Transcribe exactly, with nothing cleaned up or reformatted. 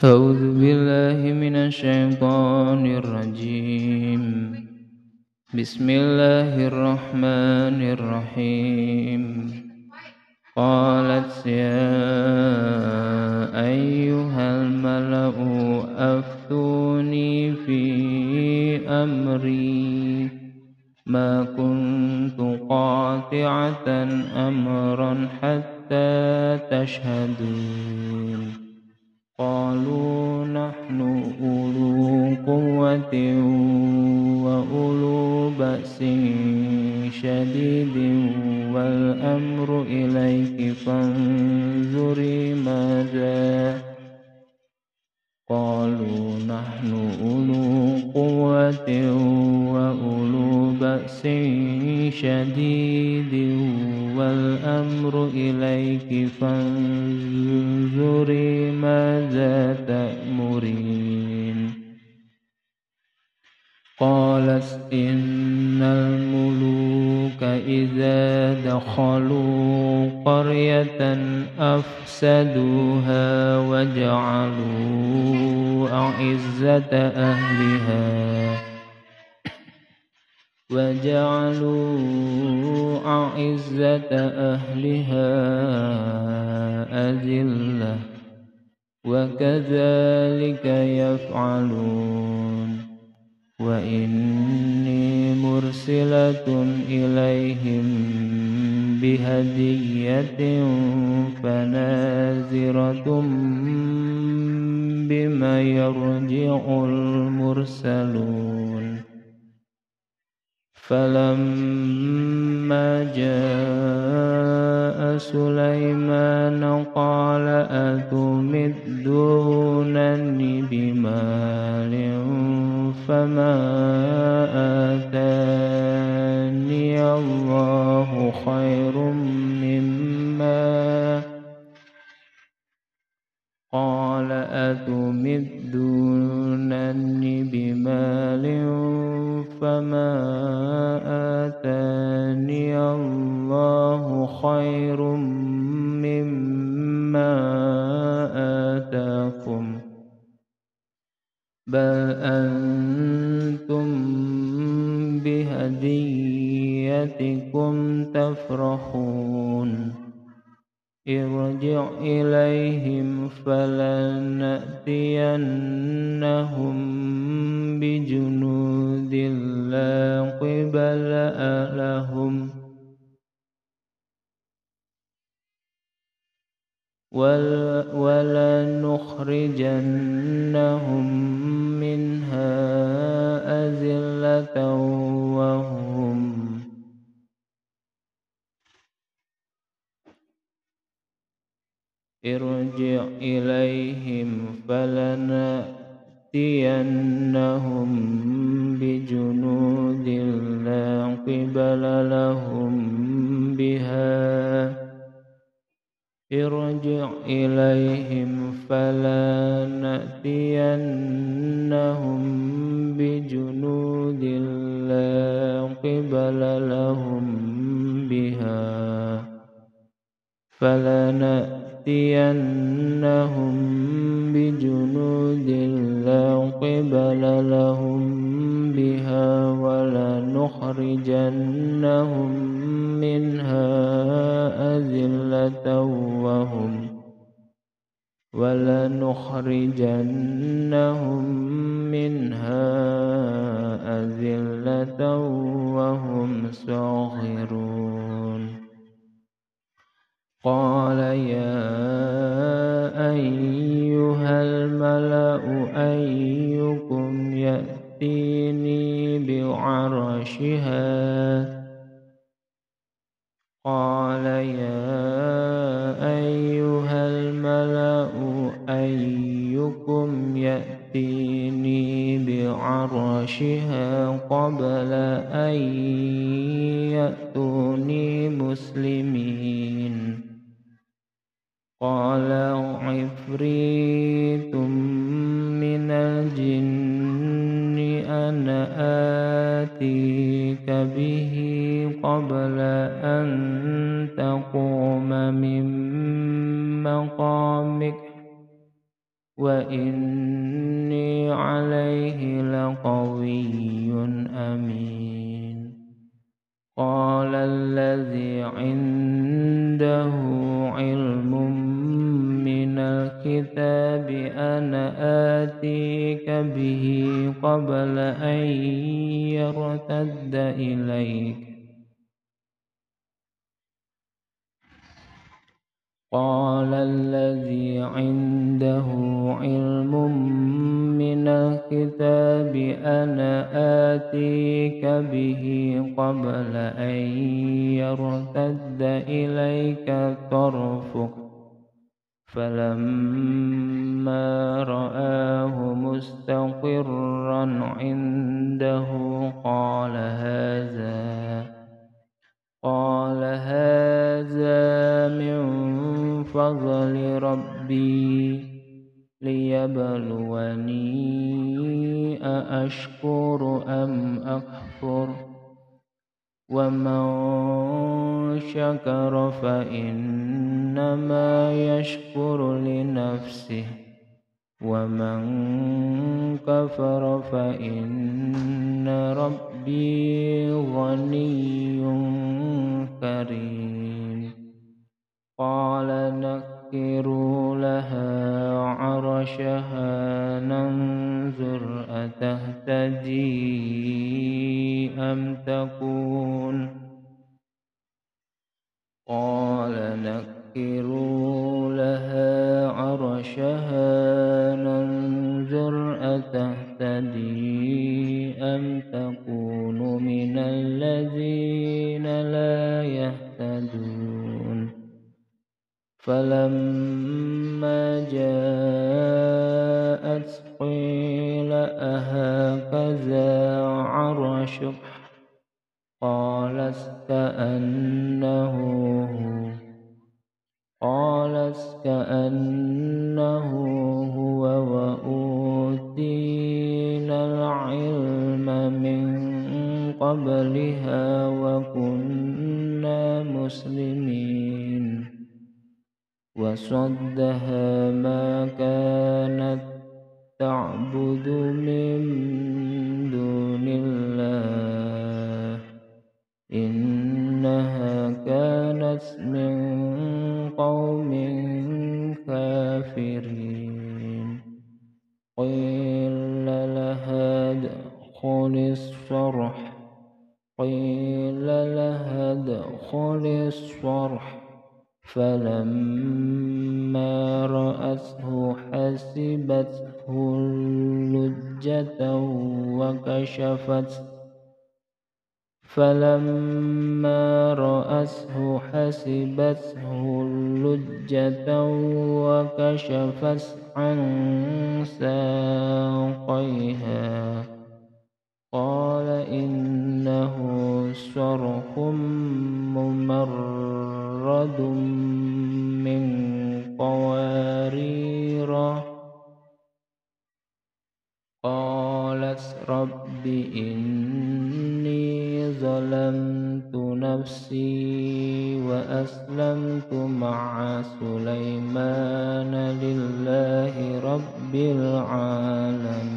أعوذ بالله من الشيطان الرجيم. بسم الله الرحمن الرحيم. قالت يا أيها الملأ أفتوني في أمري ما كنت قاطعة أمرا حتى تشهدون. قالوا نحن أولو قوة وأولو بأس شديد والأمر إليك فانظري ماذا. قالوا نحن أولو قوة وأولو بأس شديد والأمر إليك فانظري ماذا تأمرين. قالت إن الملوك إذا دخلوا قرية أفسدوها وجعلوا أعزة أهلها وجعلوا أعزة أهلها أذلة وكذلك يفعلون. وإني مرسلة إليهم بهدية فناظرة بما يرجع المرسلون. فلما جاء سليمان قال أتمدونني بمال فما آتاني الله خير مما قال أتمدونني بمال فما آتاني الله خير مما آتاكم بل أنتم بهديتكم تفرحون. ارجع إليهم فلنأتينهم بجنود لا قبل لهم ولنخرجنهم منها أذلة وهم ارجع إليهم فلنأتينهم بجنود لا قبل لهم بها ارجع إليهم فلنأتينهم بجنود لا قبل لهم بها فلنأتينهم بجنود لا قبل لهم بها ولنخرجنهم منها أذلة وهم ولنخرجنهم منها أذلة وهم صاغرون. قال يا أيها الملأ أيكم يأتيني بعرشها قال يا أيها الملأ أيكم يأتيني بعرشها قبل أن يأتوني مسلمين. قال عفريت من الجن أنا آتيك به قبل أن تقوم من مقامك وإني عليه لقوي أمين. قال الذي عنده علم من الكتاب أنا آتيك به قبل أن يرتد إليك قال الذي عنده علم من الكتاب أنا آتيك به قبل أن يرتد إليك طرفك فلما رآه مستقرا عنده قال هذا قال هذا من فضل ربي ليبلوني أأشكر أم أكفر ومن شكر فإنما يشكر لنفسه ومن كفر فإن ربي غني كريم. قال نكروا لها عرشها ننظر أتهتدي أم تكون قال نكروا لها عرشها ننظر أتهتدي أم تكون من الذين لا يهتدون. فلما جاءت قيل أهكذا عرشك قالت كأنه هو قالت كأنه هو وأوتينا العلم من قبلها وكنا مسلمين. وصدها ما كانت تعبد من دون الله إنها كانت من قوم كافرين. قيل لها ادخل الصرح قيل لها ادخل الصرح فلما رأته حسبته لجة وكشفت فلما رأته حسبته لجة وكشفت عن ساقيها قال إنه صرح ممرد من قوارير. قالت رب إني ظلمت نفسي وأسلمت مع سليمان لله رب العالمين.